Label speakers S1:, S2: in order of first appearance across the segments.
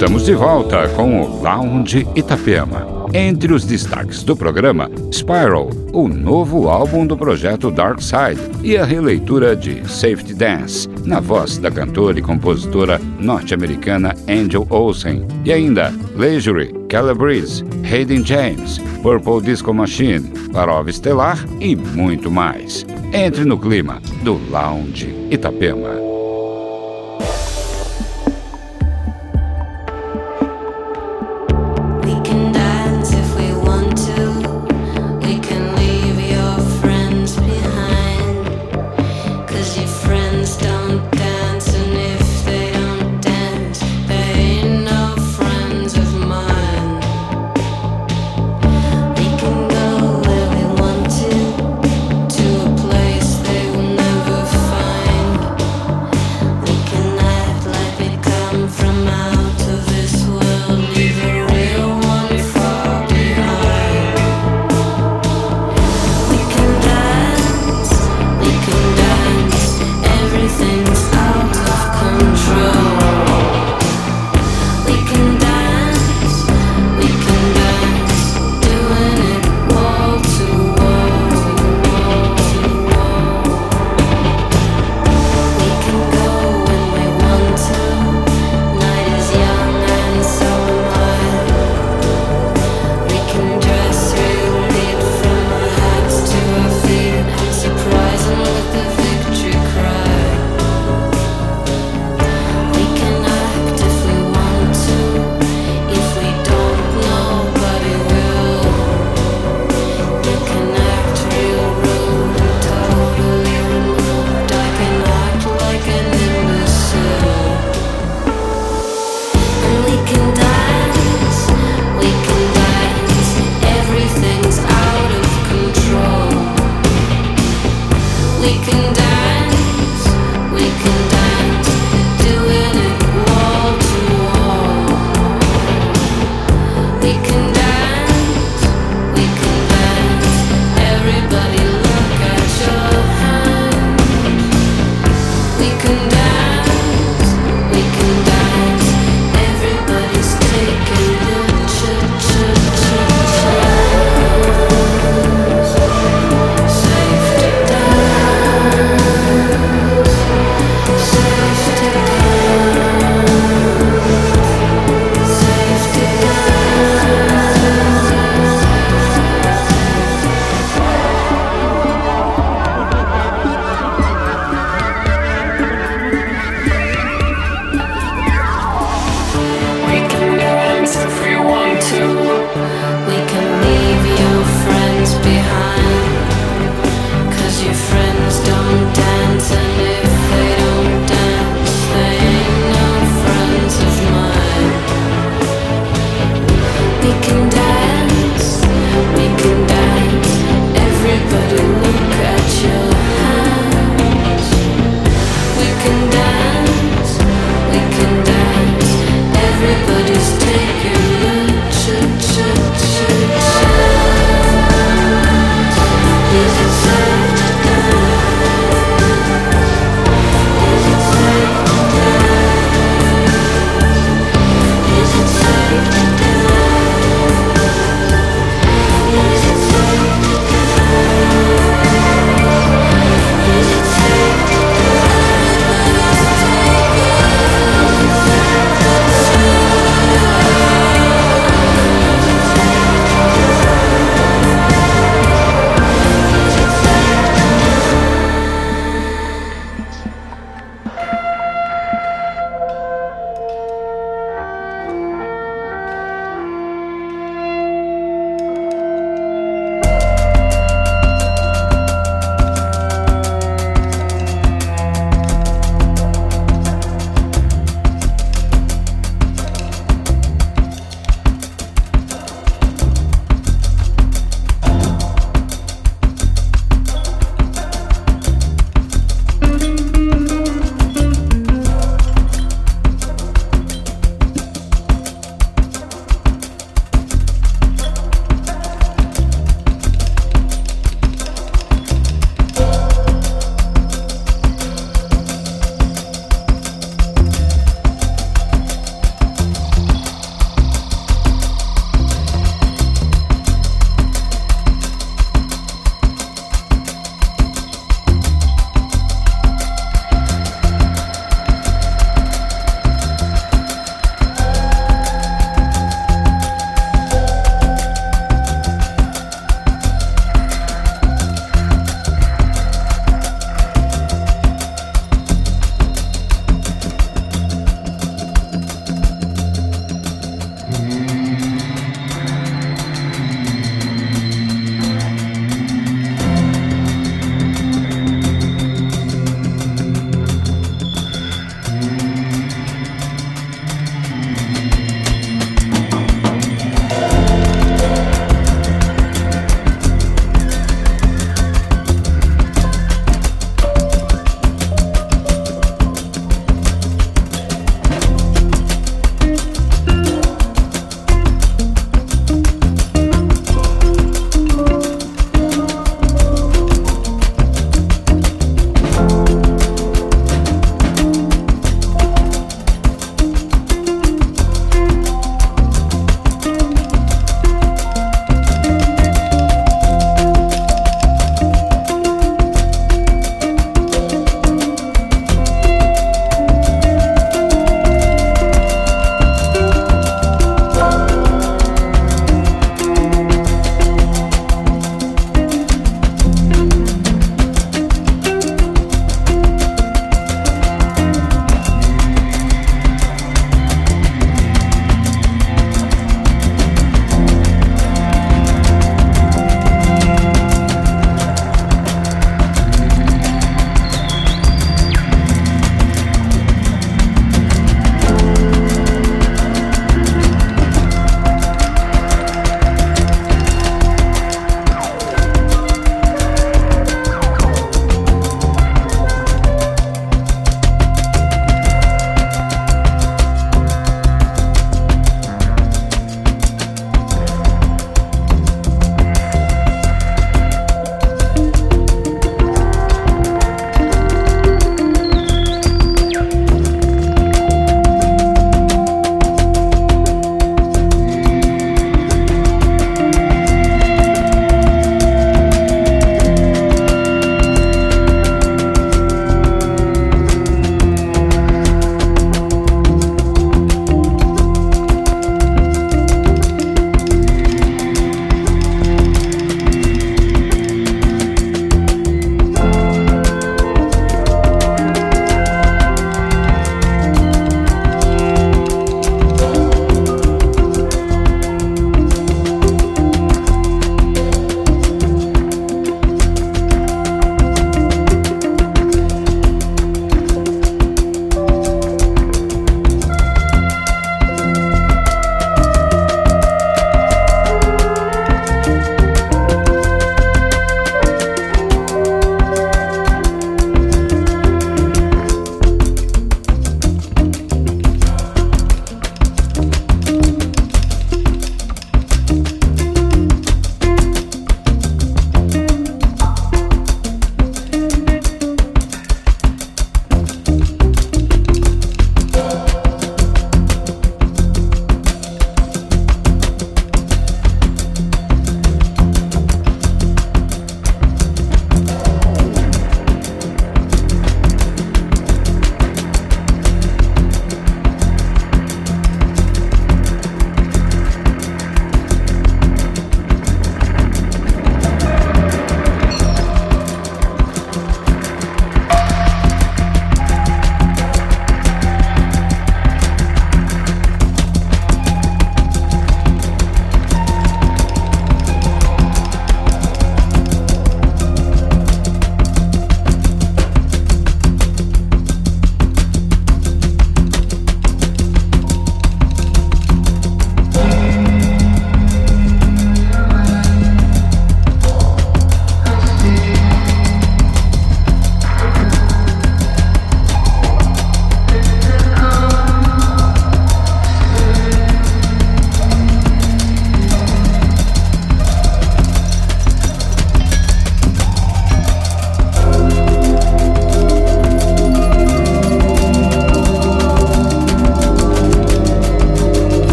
S1: Estamos de volta com o Lounge Itapema. Entre os destaques do programa, Spiral, o novo álbum do projeto Dark Side, e a releitura de Safety Dance, na voz da cantora e compositora norte-americana Angel Olsen. E ainda Leisure, Calabrese, Hayden James, Purple Disco Machine, Prova Estelar e muito mais. Entre no clima do Lounge Itapema.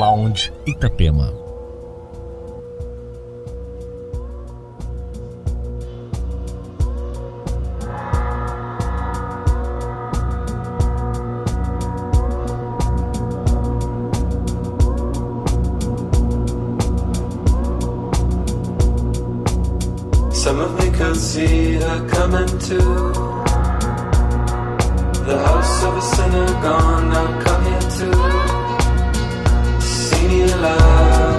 S2: Lounge Itapema.
S3: Some of me could see her coming to the house of a sinner gone. Now come here to see me alive.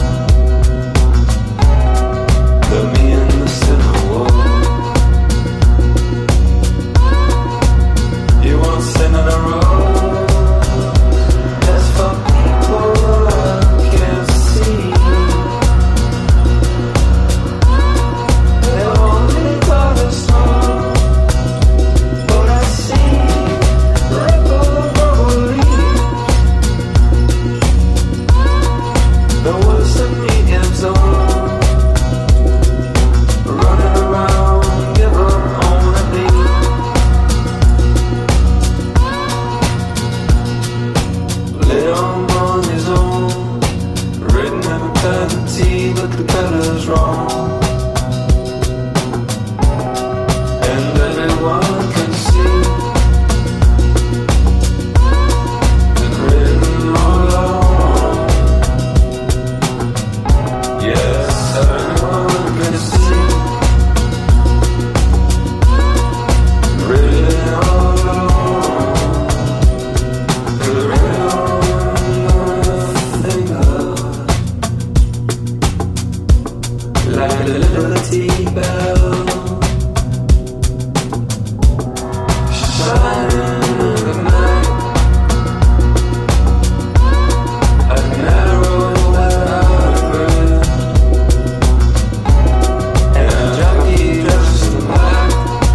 S3: But me and the sinner walk. You won't sin in a row. That's for people I can't see. But the color's wrong, and everyone can see it's written all along. Yes, everyone can see written all along. The real thing like a Liberty Bell shining in the night, an arrow without a breath, and a jockey dressed in black,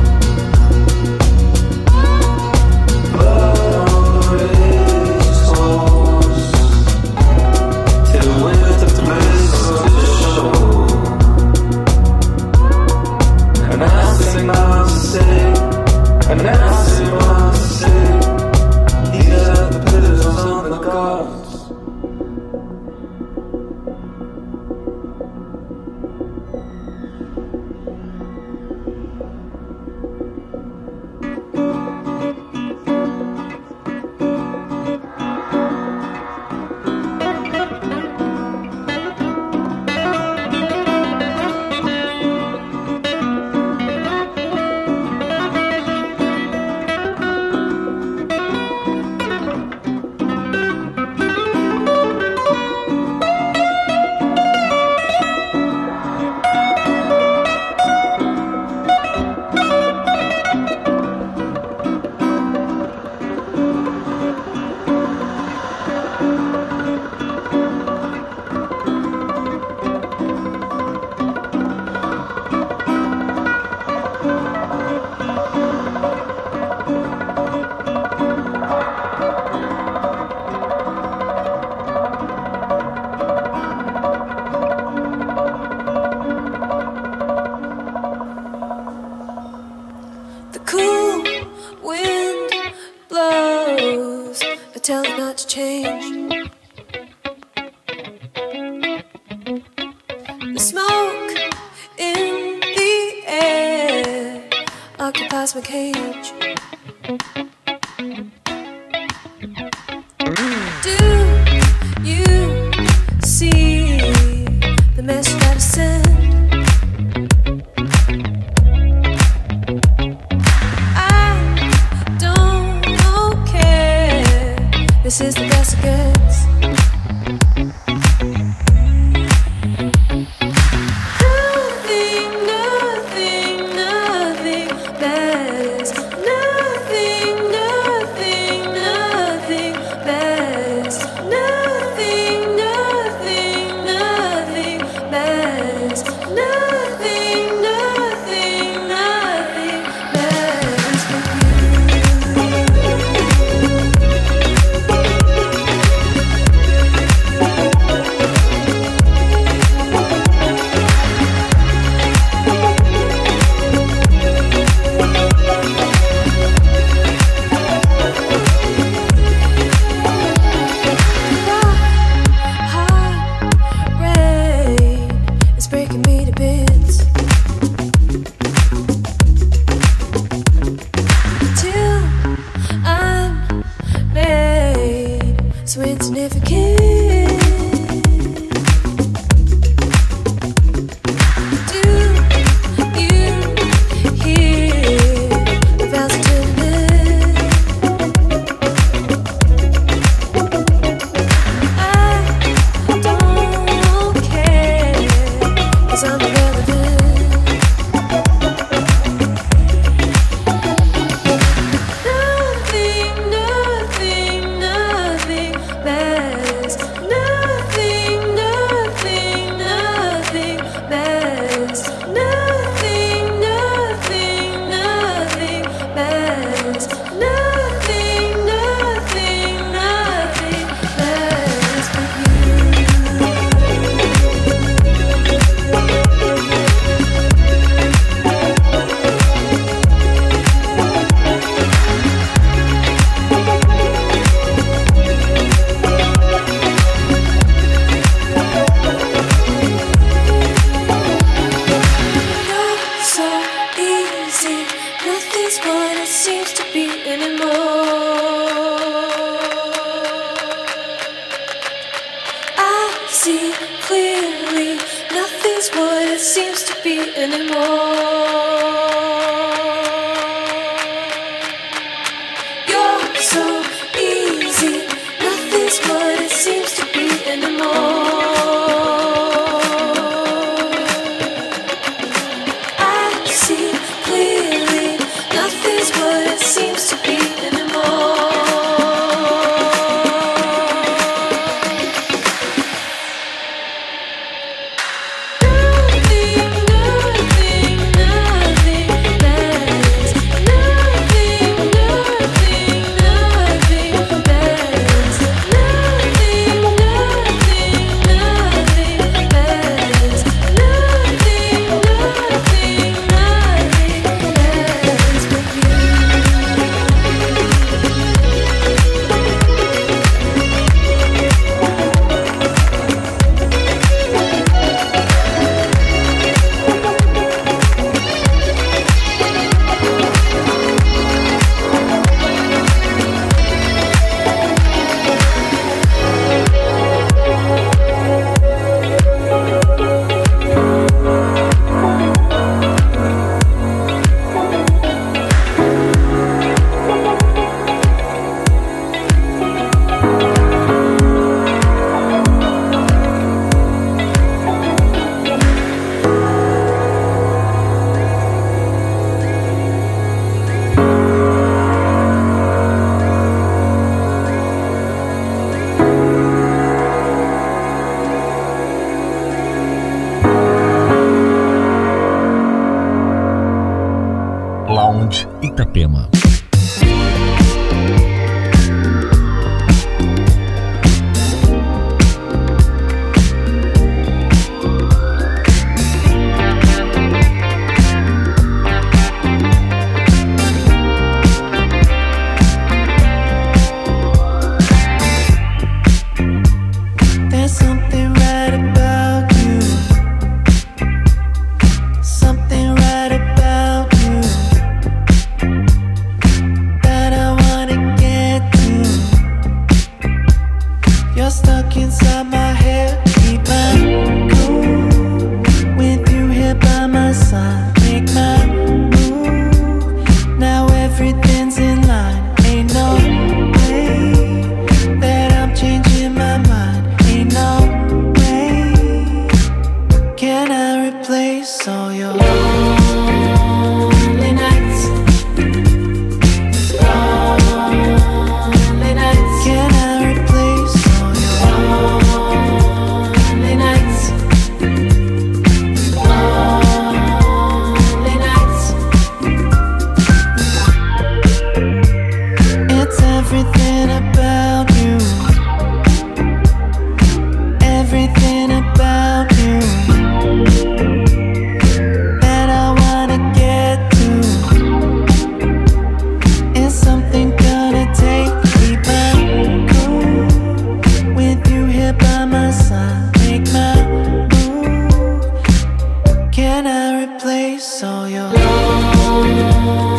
S3: blood on the racehorse, till the winner took the place of the show. And I sing my city, and I sing my city. These are the pillars on the gods.
S4: Tell it not to change. The smoke in the air occupies my cage. Do you see the message that I send? This is the best it gets. Nothing, nothing, nothing matters. Nothing, nothing, nothing matters. Nothing, nothing, nothing matters. Nothing, nothing, nothing matters but you. so insignificant. Do you hear the bells of tenderness? I don't care, 'cause I'm irrelevant.
S2: Itapema.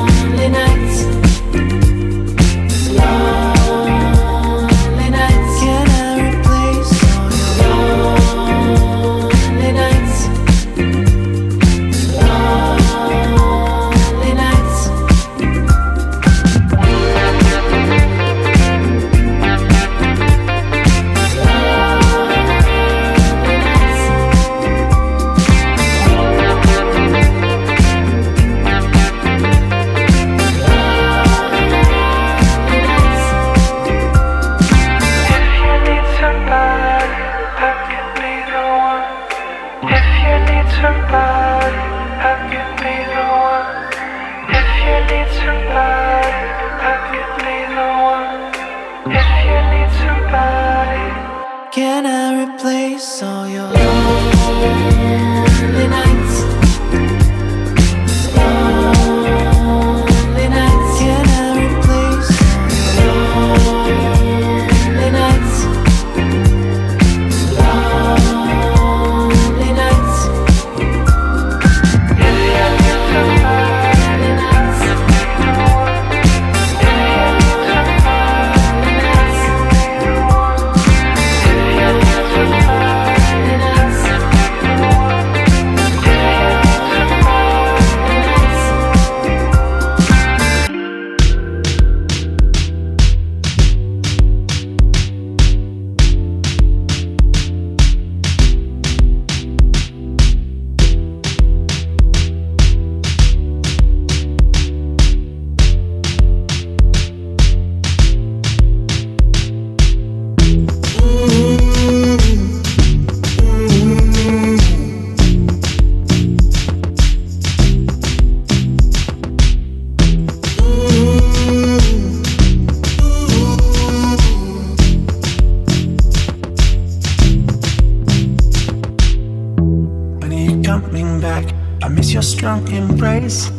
S5: Lonely nights.
S3: if you need somebody.
S2: Can I replace all your lonely nights? Lonely nights. Can I replace all your lonely nights? Lonely nights.
S3: If you need somebody,
S2: coming back. I miss your strong embrace.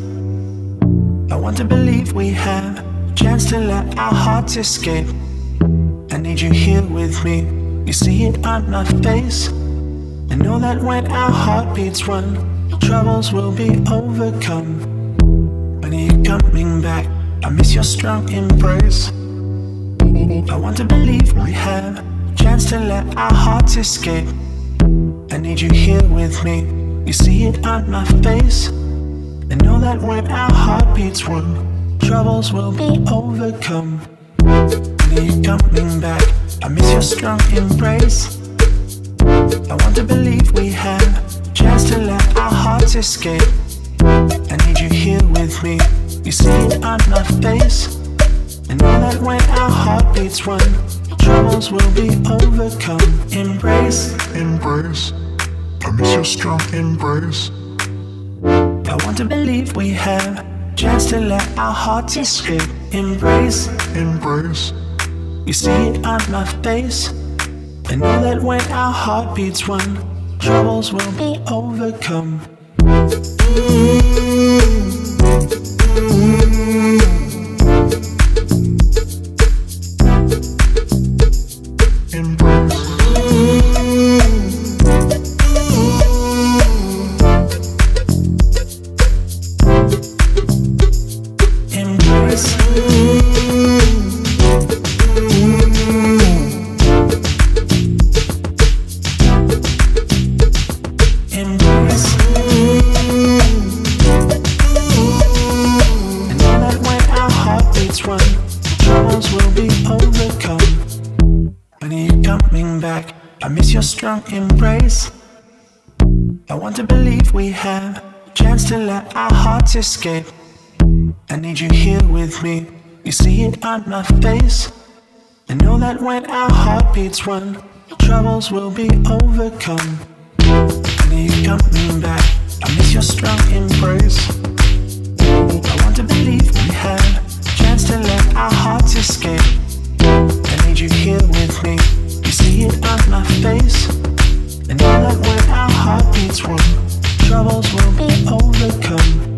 S2: I want to believe we have a chance to let our hearts escape. I need you here with me. You see it on my face. I know that when our heartbeats run, troubles will be overcome. When are you coming back? I miss your strong embrace. I want to believe we have a chance to let our hearts escape. I need you here with me. You see it on my face. I know that when our heartbeats run, troubles will be overcome. When are you coming back? I miss your strong embrace. I want to believe we have a chance to let our hearts escape. I need you here with me. You see it on my face. I know that when our heartbeats run, troubles will be overcome. Embrace,
S5: Embrace, I miss your strong embrace.
S2: I want to believe we have a chance to let our hearts escape. Embrace,
S5: Embrace,
S2: you see it on my face. I know that when our heartbeats run, troubles will be overcome.
S5: embrace,
S2: Embrace, embrace. I know that when our heartbeats run, troubles will be overcome. When are you coming back? I miss your strong embrace. I want to believe we have a chance to let our hearts escape. I need you here with me. You see it on my face. I know that when our heartbeats run, troubles will be overcome. When are you coming back? I miss your strong embrace. I want to believe we have a chance to let our hearts escape. I need you here with me. You see it on my face. I know that when our heartbeats run, troubles will be overcome.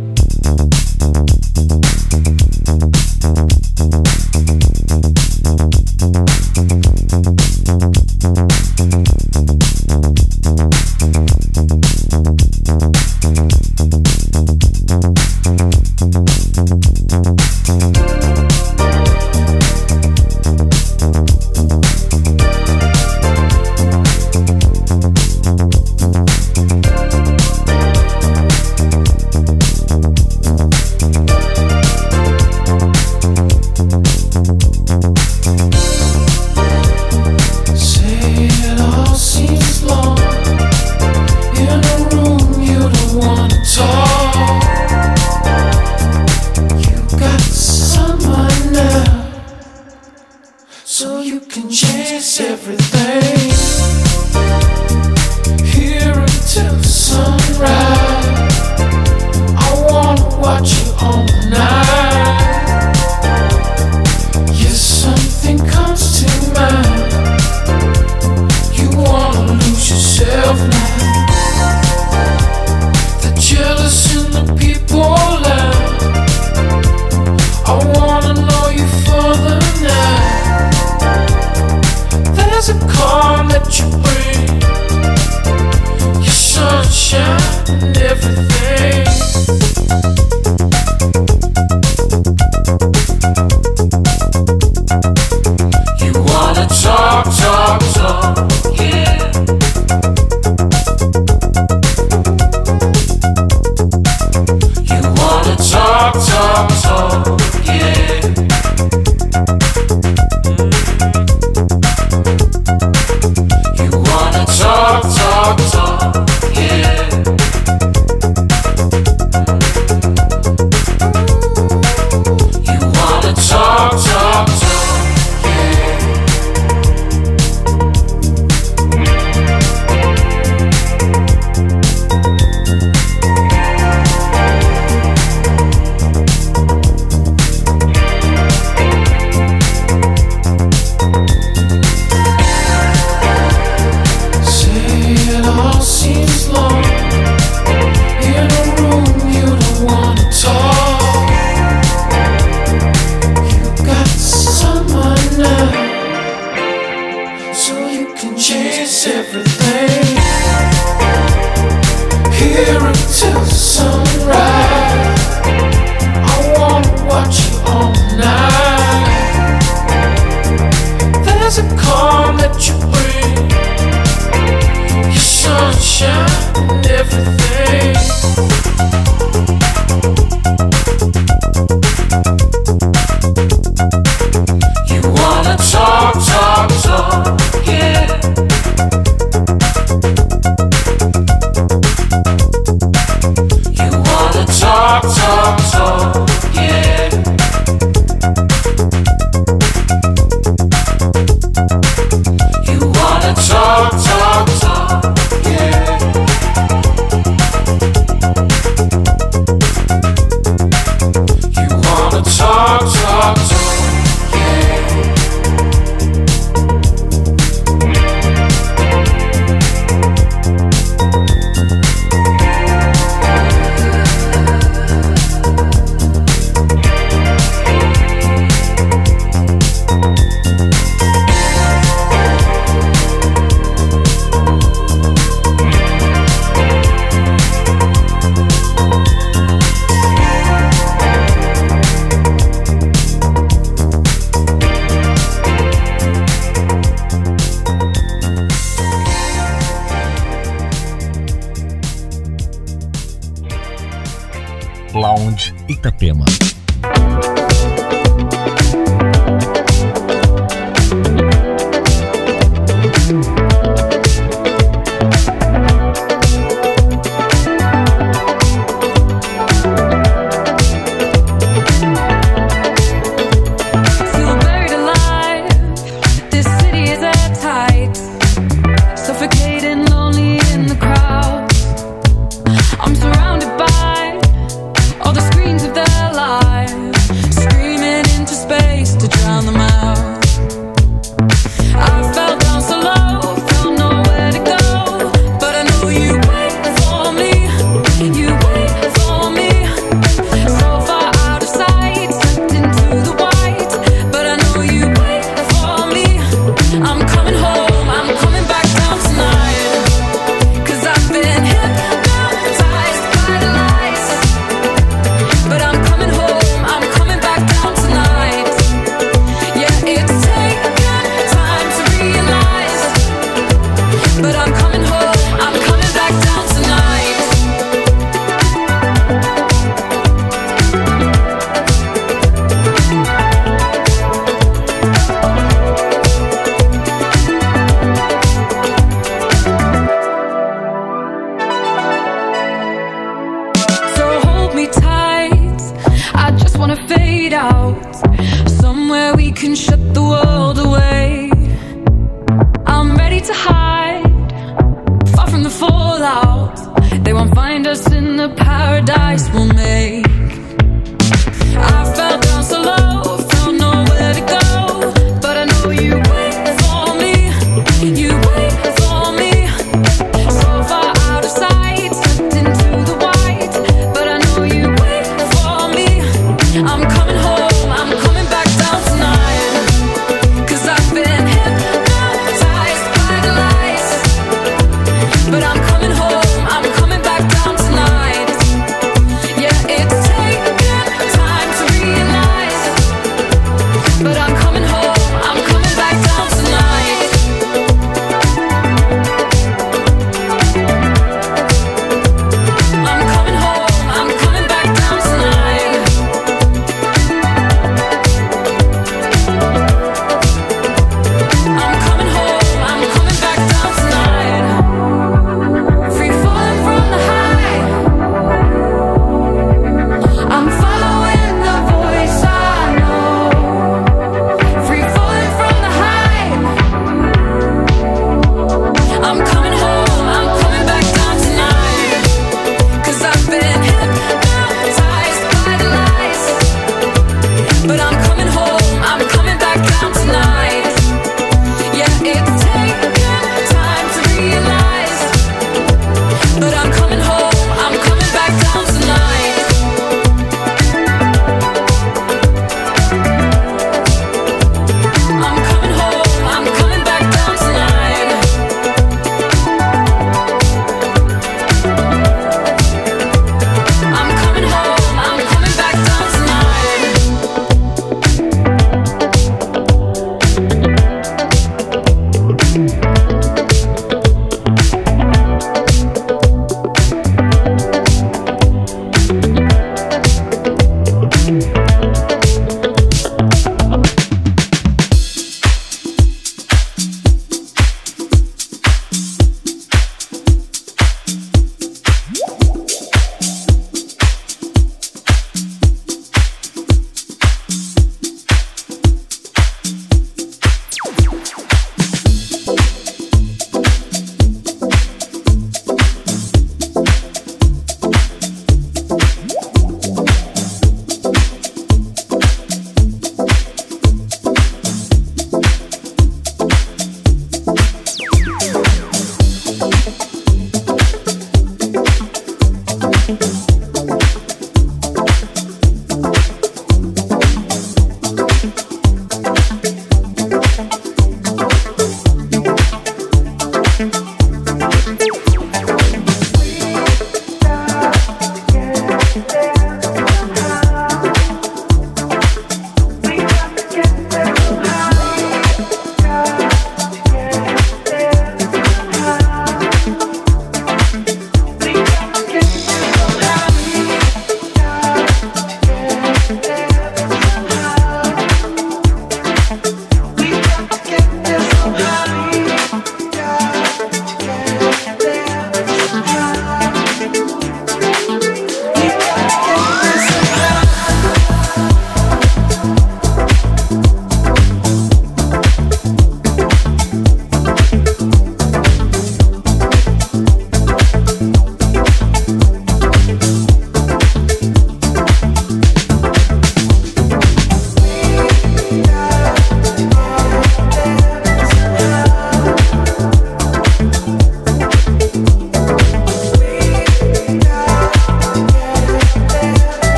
S6: Something comes
S3: and everything. You wanna talk, talk, talk, yeah. You wanna talk, talk, talk, yeah. You wanna talk, talk, talk, yeah. You wanna talk, talk, talk, yeah. Say it all seems long in a room you don't wanna talk. You got someone now, so you can chase everything. Here until sunrise, I wanna watch you all night. There's a calm that you bring, your sunshine and everything. You wanna talk, talk, talk, yeah. You wanna talk, talk, talk, yeah. You wanna talk, talk, talk, yeah. You wanna talk, talk, talk, yeah.
S6: Lounge Itapema.
S4: Feel buried alive. This city is at tight, suffocating, lonely in the crowd. I'm surrounded by all the screens of their lives.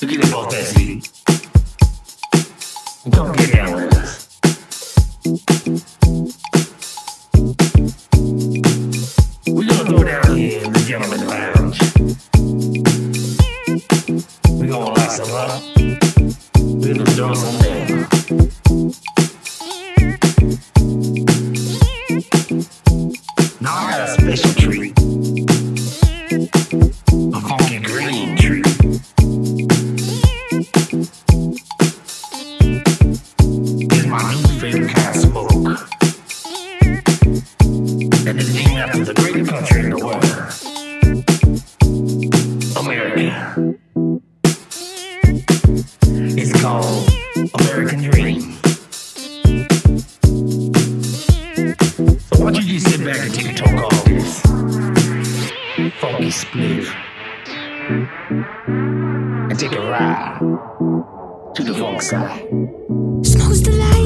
S6: Forget about that, see. Come get down with us. We're gonna go down here in the gentleman's lounge. We're gonna light some up. We're gonna throw some down. Now I got a special treat. A funky green treat. It's my new favorite kind of smoke. And it's named after the greatest country in the world. America. It's called American Dream. So why don't you just sit back and take a toke off this funky spliff and take a ride to the funk side.
S7: Smoke's the light.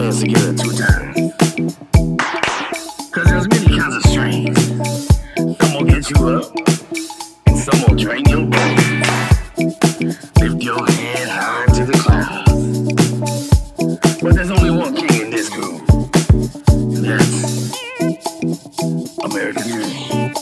S6: hands together 2 times. Cause there's many kinds of strains. Some will get you up, and some will drain your brain. Lift your head high to the clouds. But there's only one king in this groove. And that's American Dream.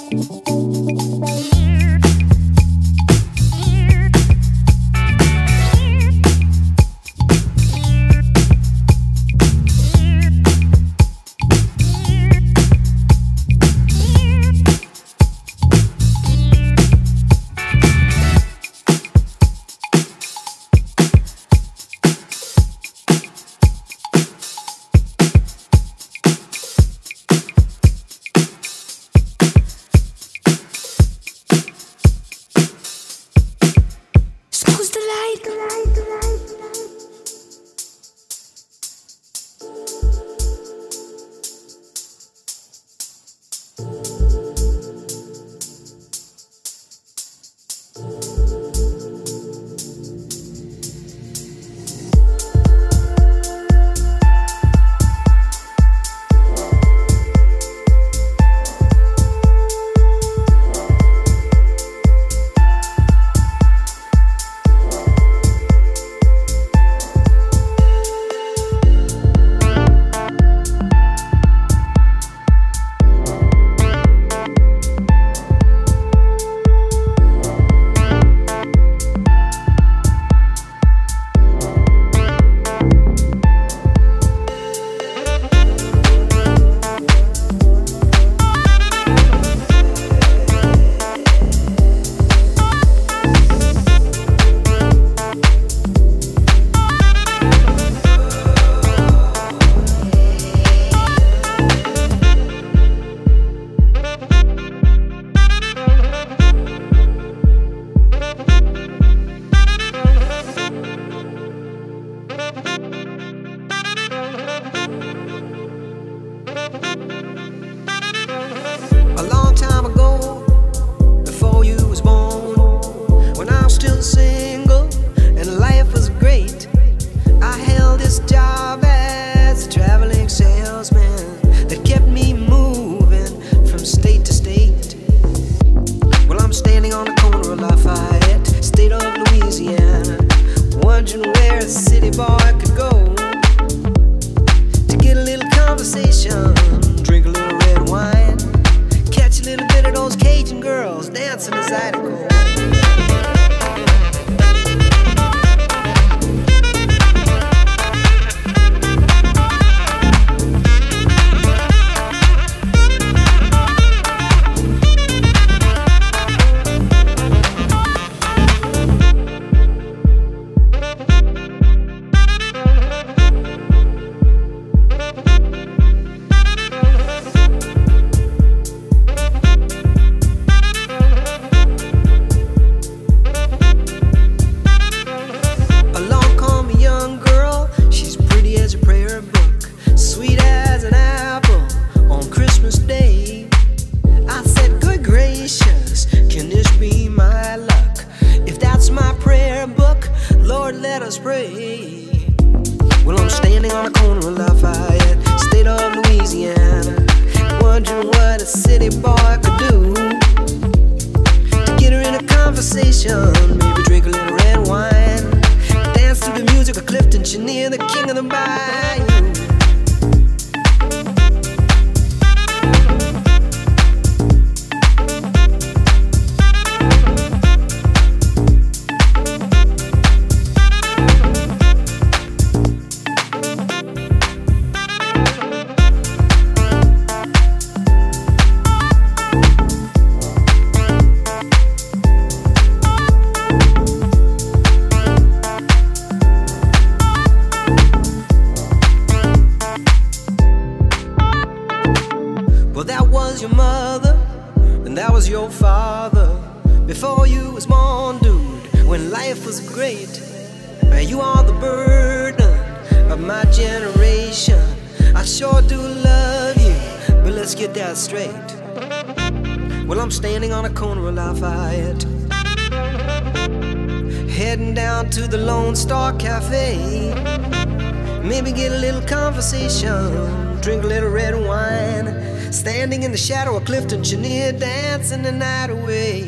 S8: Heading down to the Lone Star Cafe. Maybe get a little conversation, drink a little red wine, standing in the shadow of Clifton Chenier, dancing the night away.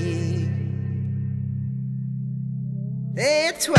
S8: Et toi?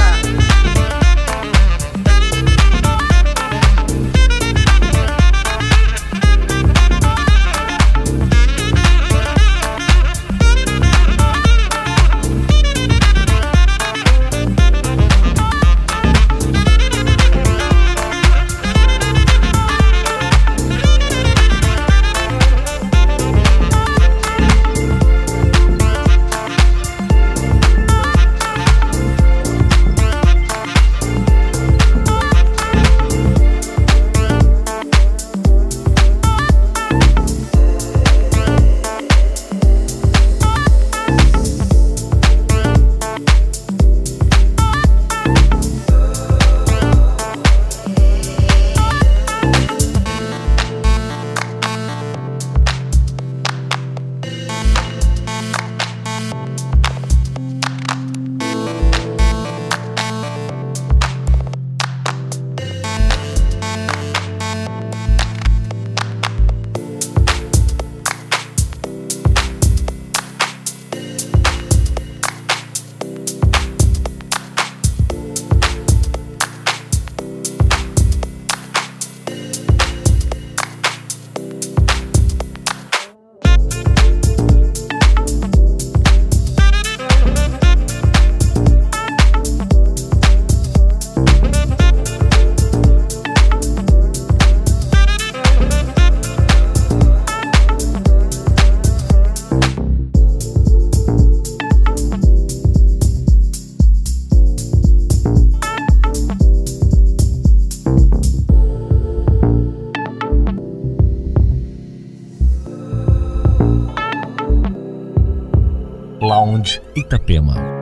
S9: Lounge Itapema.